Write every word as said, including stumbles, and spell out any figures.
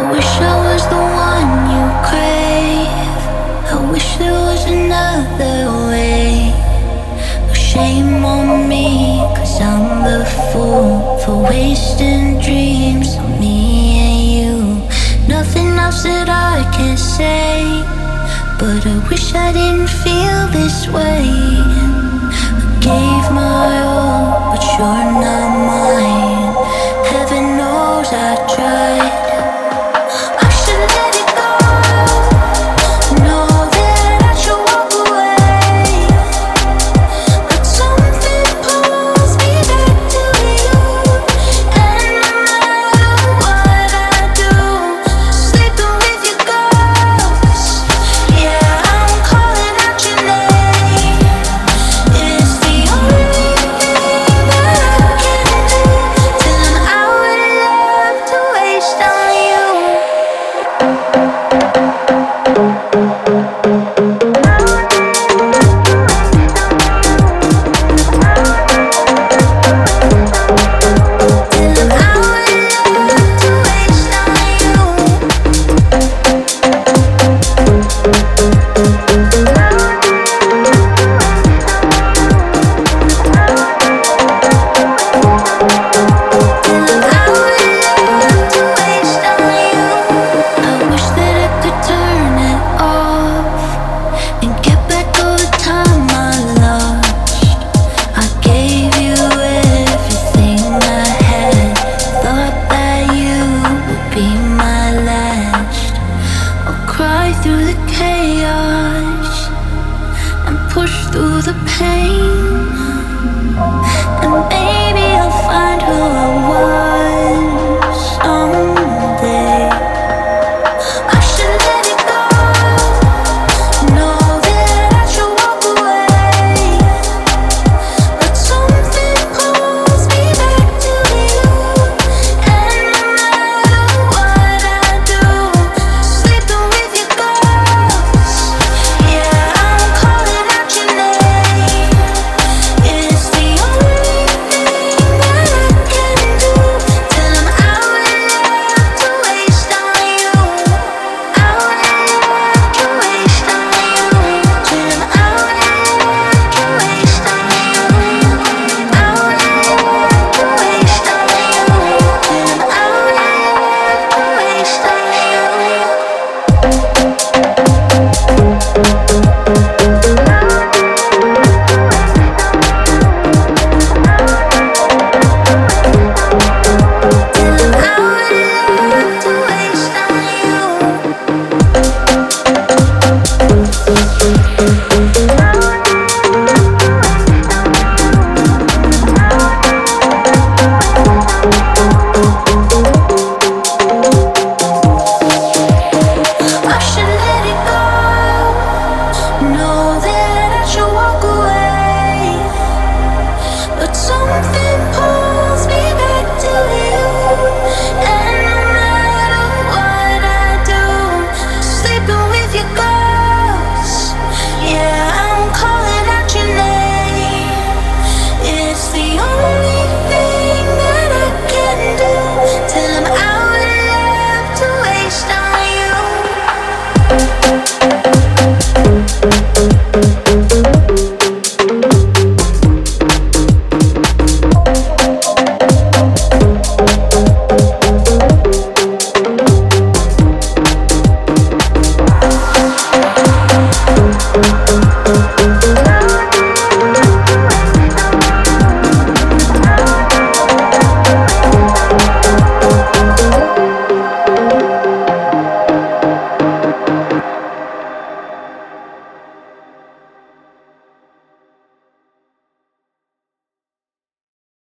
wish I was the one you crave. I wish there was another way. No shame on me, cause I'm the fool for wasting dreams on me and you. Nothing else that I can say, but I wish I didn't feel this way. I gave my all, but you're not mine. Heaven knows I tried. I should let it go. Know that I should walk away, but something pulls me back to you. And no matter what I do, sleeping with your ghost. Yeah, I'm calling out your name. It's the only thing that I can do. Telling I would love to waste on you. Telling I would love to waste on Telling I would love to waste on you. I wish that I could turn it off and get back all the time I lost. I gave you everything I had, thought that you would be my last. I'll cry through the chaos and push through the pain, and maybe I'll find who I was.